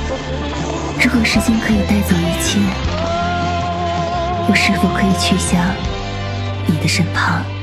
如果时间可以带走一切，我是否可以去向你的身旁？